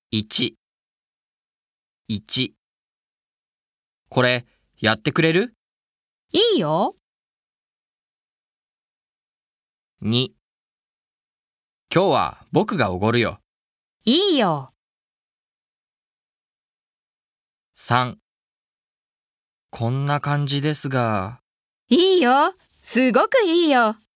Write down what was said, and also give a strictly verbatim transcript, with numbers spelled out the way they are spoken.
いち、いち。これ、やってくれる？ いいよ。 に、今日は僕がおごるよ。 いいよ。 さん、こんな感じですが。 いいよ。すごくいいよ。